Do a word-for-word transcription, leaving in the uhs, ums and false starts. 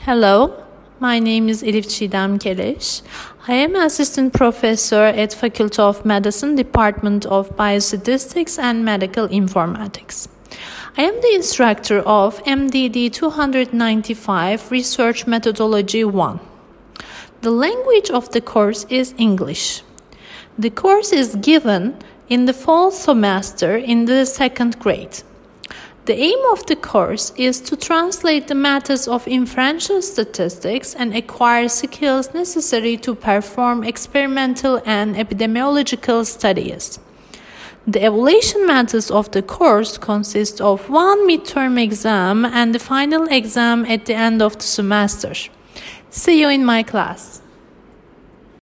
Hello, my name is Elif Çiğdem Keleş. I am assistant professor at Faculty of Medicine, Department of Biostatistics and Medical Informatics. I am the instructor of M D D two ninety-five Research Methodology one. The language of the course is English. The course is given in the fall semester in the second grade. The aim of the course is to translate the methods of inferential statistics and acquire skills necessary to perform experimental and epidemiological studies. The evaluation methods of the course consist of one midterm exam and the final exam at the end of the semester. See you in my class.